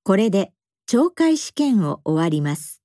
これで懲戒試験を終わります。